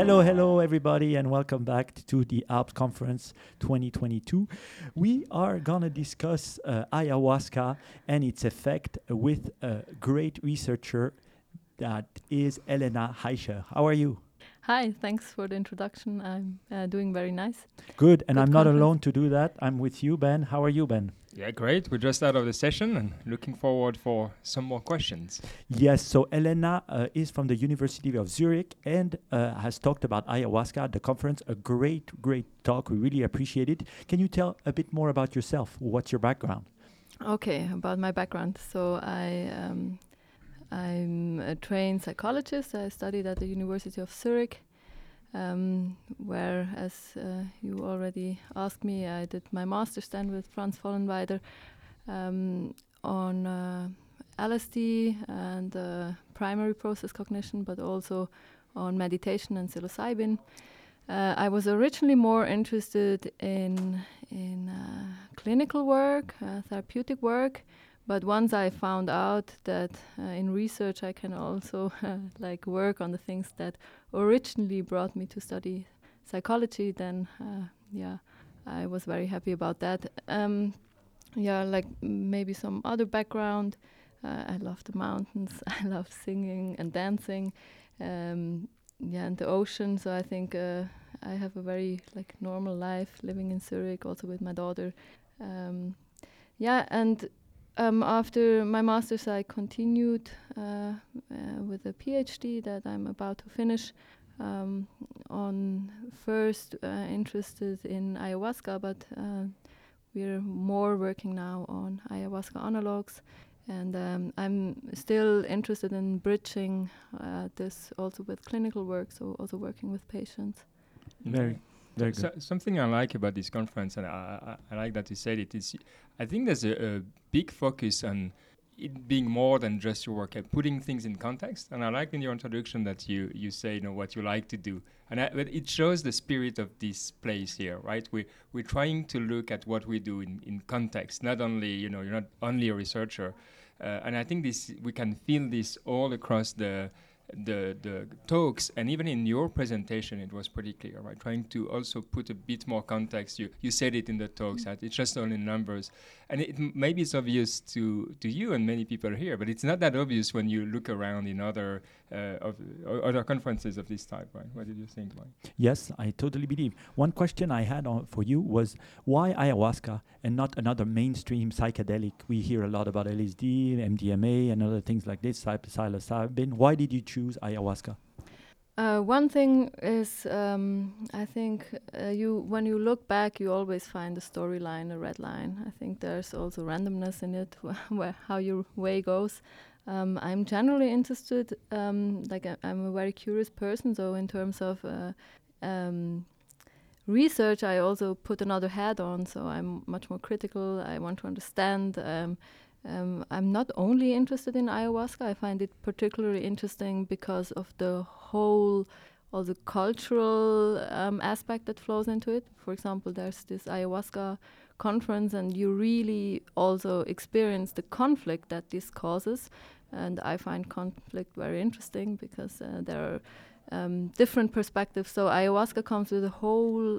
Hello, everybody, and welcome back to the Alps Conference 2022. We are going to discuss ayahuasca and its effect with a great researcher that is Elena Heischer. How are you? Hi, thanks for the introduction. I'm doing very nice. Good, and Good I'm not conference. alone to do that. I'm with you, Ben. How are you, Ben? Yeah, great. We're just out of the session and looking forward for some more questions. Yes, so Elena is from the University of Zurich and has talked about ayahuasca at the conference. A great talk. We really appreciate it. Can you tell a bit more about yourself? What's your background? Okay, about my background. So I'm a trained psychologist. I studied at the University of Zurich, where, as you already asked me, I did my master's then with Franz Vollenweider on LSD and primary process cognition, but also on meditation and psilocybin. I was originally more interested in clinical work, therapeutic work, but once I found out that in research I can also like work on the things that originally brought me to study psychology, then I was very happy about that. Like maybe some other background. I love the mountains. I love singing and dancing. And the ocean. So I think I have a very normal life living in Zurich, also with my daughter. After my master's, I continued with a PhD that I'm about to finish. On first interested in ayahuasca, but we're more working now on ayahuasca analogs. And I'm still interested in bridging this also with clinical work, so also working with patients. Very good. Something I like about this conference, and I like that you said it, is I think there's a big focus on it being more than just your work, putting things in context. And I like in your introduction that you say, what you like to do. But it shows the spirit of this place here, right? We're trying to look at what we do in context, not only, you're not only a researcher. And I think we can feel this all across the talks, and even in your presentation it was pretty clear, right? Trying to also put a bit more context. You said it in the talks that it's just only numbers, and maybe it's obvious to you and many people here, but it's not that obvious when you look around in other conferences of this type, right? What did you think, Mike? Yes, I totally believe. One question I had for you was why ayahuasca and not another mainstream psychedelic? We hear a lot about LSD, MDMA, and other things like this, psilocybin. Why did you choose ayahuasca? One thing is, I think when you look back, you always find a storyline, a red line. I think there's also randomness in it, how your way goes. I'm generally interested, I'm a very curious person, so in terms of research, I also put another hat on, so I'm much more critical. I want to understand. I'm not only interested in ayahuasca. I find it particularly interesting because of the whole, all the cultural aspect that flows into it. For example, there's this ayahuasca conference, and you really also experience the conflict that this causes. And I find conflict very interesting because there are different perspectives. So ayahuasca comes with a whole.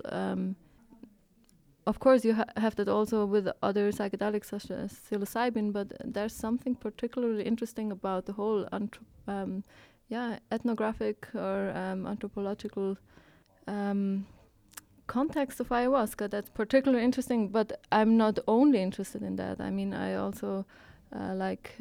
Of course, you have that also with other psychedelics such as psilocybin, but there's something particularly interesting about the whole ethnographic or anthropological context of ayahuasca that's particularly interesting. But I'm not only interested in that. I mean, I also like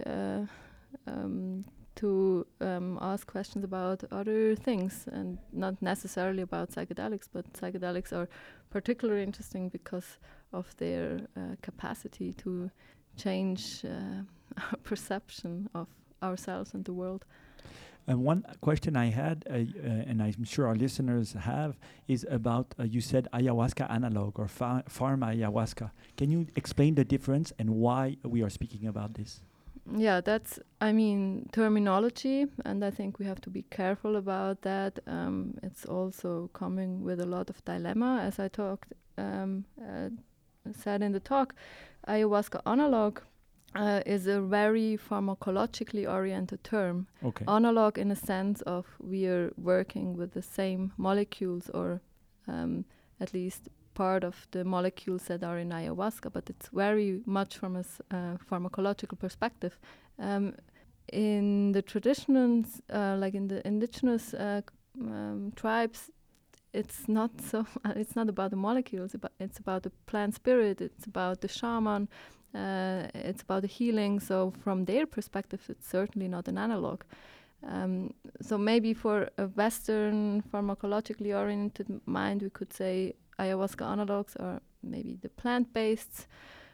to ask questions about other things, and not necessarily about psychedelics, but psychedelics are particularly interesting because of their capacity to change our perception of ourselves and the world. And one question I had, and I'm sure our listeners have, is about, you said ayahuasca analog or pharma ayahuasca. Can you explain the difference and why we are speaking about this? Yeah, that's, terminology, and I think we have to be careful about that. It's also coming with a lot of dilemma, as I said in the talk. Ayahuasca analog is a very pharmacologically oriented term. Okay. Analog in a sense of we are working with the same molecules, or at least part of the molecules that are in ayahuasca, but it's very much from a pharmacological perspective. In the traditions, like in the indigenous tribes, it's not so. It's not about the molecules. It's about the plant spirit. It's about the shaman. It's about the healing. So from their perspective, it's certainly not an analog. So maybe for a Western pharmacologically oriented mind, we could say ayahuasca analogs are maybe the plant-based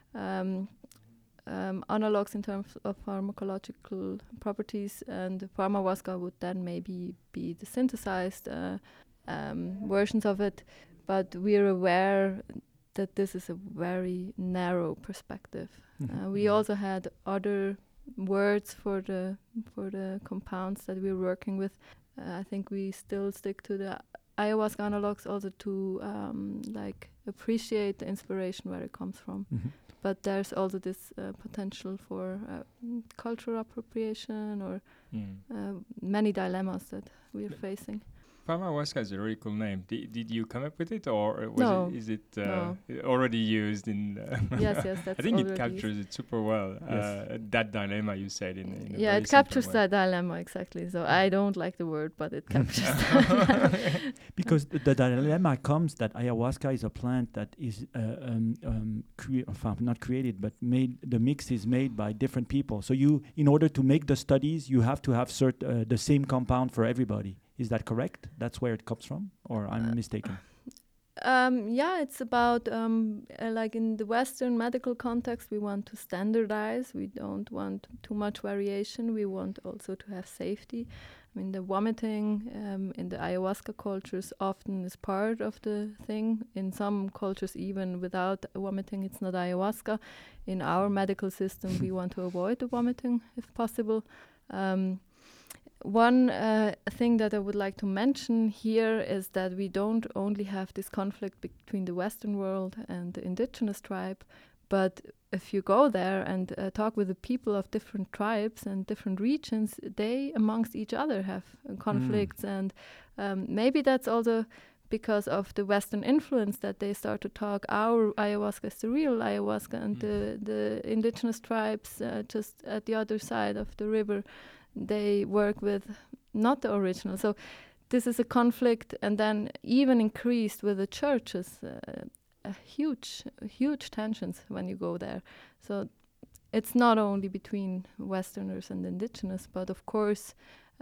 analogs in terms of pharmacological properties, and pharmahuasca would then maybe be the synthesized versions of it. But we're aware that this is a very narrow perspective. We also had other words for the compounds that we're working with. I think we still stick to the ayahuasca analogs also to like appreciate the inspiration where it comes from. But there's also this potential for cultural appropriation or many dilemmas that we're facing. Pharmahuasca is a really cool name. Did you come up with it, or is it No. already used in? Yes, that's I think it already captures it super well. Yes. That dilemma you said in a yeah, very it captures simple way. that dilemma exactly. So I don't like the word, but it captures that. Because the dilemma comes that ayahuasca is a plant that is not created, but made. The mix is made by different people. So you, in order to make the studies, you have to have the same compound for everybody. Is that correct? That's where it comes from, or I'm mistaken? Yeah, it's about like in the Western medical context, we want to standardize. We don't want too much variation. We want also to have safety. I mean, the vomiting in the ayahuasca cultures often is part of the thing. In some cultures, even without vomiting, it's not ayahuasca. In our medical system, we want to avoid the vomiting if possible. One thing that I would like to mention here is that we don't only have this conflict between the Western world and the indigenous tribe, but if you go there and talk with the people of different tribes and different regions, they amongst each other have conflicts. And maybe that's also because of the Western influence that they start to talk our ayahuasca is the real ayahuasca, and the indigenous tribes just at the other side of the river, they work with not the original. So this is a conflict, and then even increased with the churches, huge tensions when you go there. So it's not only between Westerners and indigenous, but of course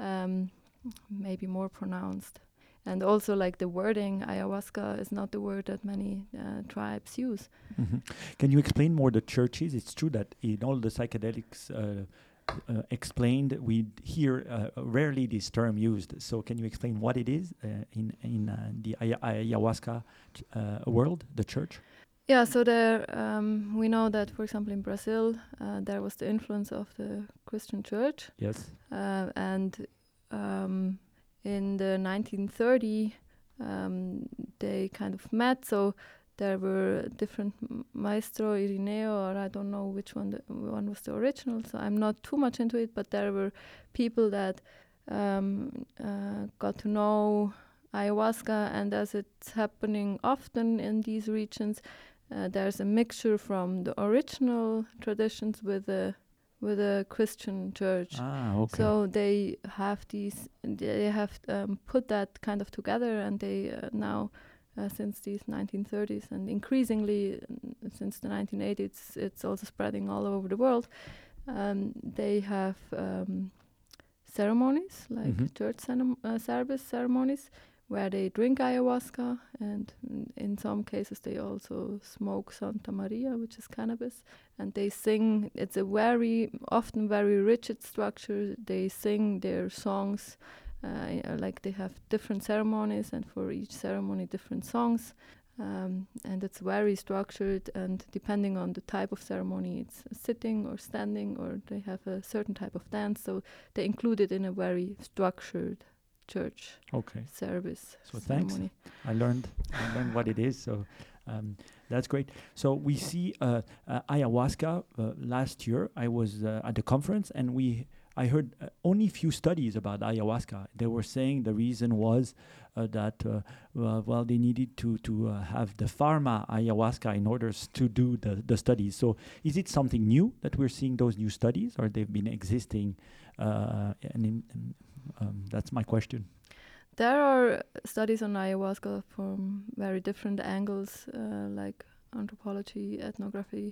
maybe more pronounced. And also, like the wording, ayahuasca is not the word that many tribes use. Can you explain more the churches? It's true that in all the psychedelics explained, we hear rarely this term used. So can you explain what it is in the ayahuasca world, the church? Yeah, so there we know that, for example, in Brazil, there was the influence of the Christian church. Yes. And in the 1930s, they kind of met. So there were different Maestro Irineo, or I don't know which one was the original, so I'm not too much into it, but there were people that got to know ayahuasca, and as it's happening often in these regions, there's a mixture from the original traditions with a Christian church. Okay. So they have put that kind of together, and they now since these 1930s, and increasingly since the 1980s, it's also spreading all over the world. They have ceremonies, like church service ceremonies, where they drink ayahuasca, and in some cases they also smoke Santa Maria, which is cannabis, and they sing. It's a often very rigid structure. They sing their songs. Like they have different ceremonies, and for each ceremony different songs, and it's very structured, and depending on the type of ceremony, it's sitting or standing, or they have a certain type of dance, so they include it in a very structured church service. So ceremony. thanks. I learned what it is. So That's great. So we see ayahuasca. Last year, I was at the conference, and I heard only few studies about ayahuasca. They were saying the reason was that they needed to have the pharma ayahuasca in order to do the studies. So is it something new that we're seeing those new studies, or they've been existing? That's my question. There are studies on ayahuasca from very different angles, like anthropology, ethnography,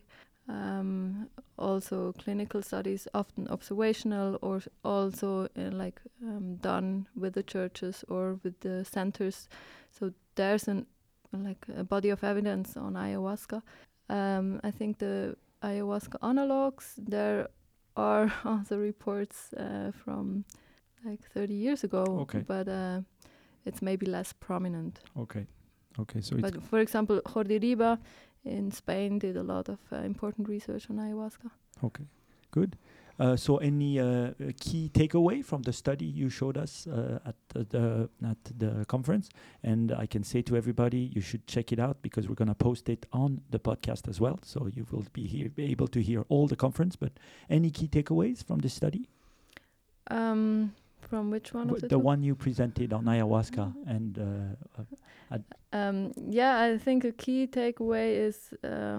also clinical studies, often observational, or also done with the churches or with the centers. So there's a body of evidence on ayahuasca. I think the ayahuasca analogs, there are also reports from like 30 years ago, Okay. but it's maybe less prominent. Okay. So But for example, Jordi Riba in Spain did a lot of important research on ayahuasca. okay, good. So any key takeaway from the study you showed us at the conference? And I can say to everybody, you should check it out because we're going to post it on the podcast as well. So you will be able to hear all the conference. But any key takeaways from the study? From which one of The one you presented on ayahuasca and I think a key takeaway is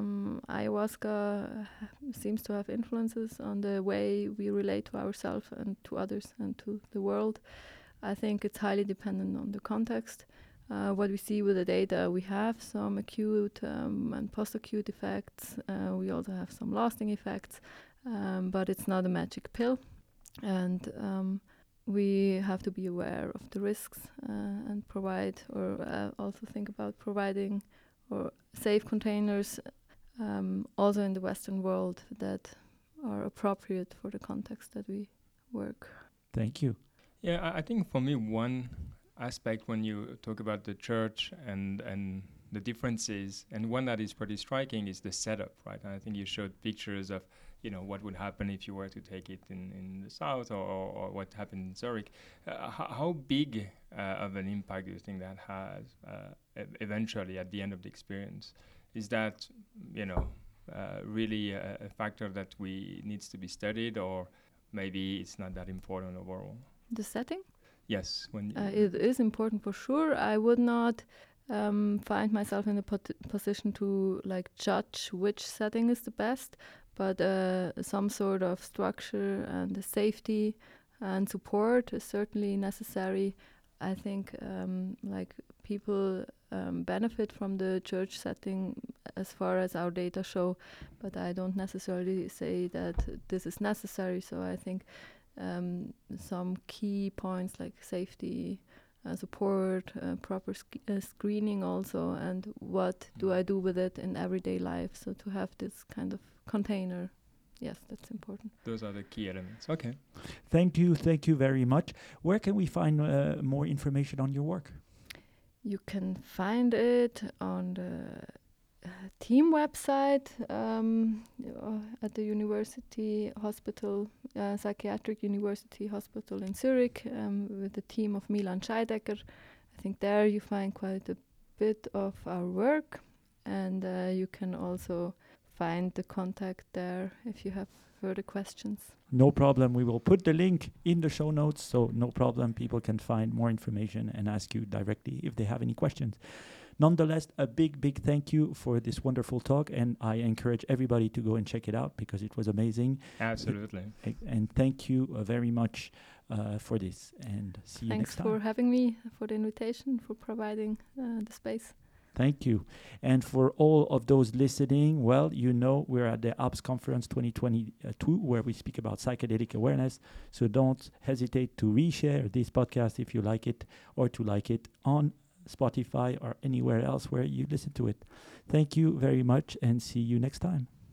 ayahuasca seems to have influences on the way we relate to ourselves and to others and to the world. I think it's highly dependent on the context. What we see with the data, we have some acute and post-acute effects. We also have some lasting effects, but it's not a magic pill. And we have to be aware of the risks and provide, or also think about providing or safe containers also in the Western world that are appropriate for the context that we work. Thank you. Yeah, I think for me, one aspect when you talk about the church and the differences, and one that is pretty striking is the setup, right? And I think you showed pictures of, what would happen if you were to take it in the south or what happened in Zurich. How big of an impact do you think that has eventually at the end of the experience? Is that, really a factor that needs to be studied, or maybe it's not that important overall? The setting? Yes. It is important for sure. I would not find myself in the position to judge which setting is the best, but some sort of structure and the safety and support is certainly necessary. I think people benefit from the church setting as far as our data show, but I don't necessarily say that this is necessary. So I think some key points like safety, support, proper screening also, and what do I do with it in everyday life. So to have this kind of container, yes, that's important. Those are the key elements. Okay. Thank you very much. Where can we find more information on your work? You can find it on the team website at the University Hospital, Psychiatric University Hospital in Zurich, with the team of Milan Scheidecker. I think there you find quite a bit of our work, and you can also find the contact there if you have further questions. No problem. We will put the link in the show notes, so no problem. People can find more information and ask you directly if they have any questions. Nonetheless, a big thank you for this wonderful talk, and I encourage everybody to go and check it out because it was amazing. Absolutely. And thank you very much for this, and see you next time. Thanks for having me, for the invitation, for providing the space. Thank you. And for all of those listening, well, we're at the ALPS Conference 2022, where we speak about psychedelic awareness. So don't hesitate to reshare this podcast if you like it, or to like it on Spotify or anywhere else where you listen to it. Thank you very much, and see you next time.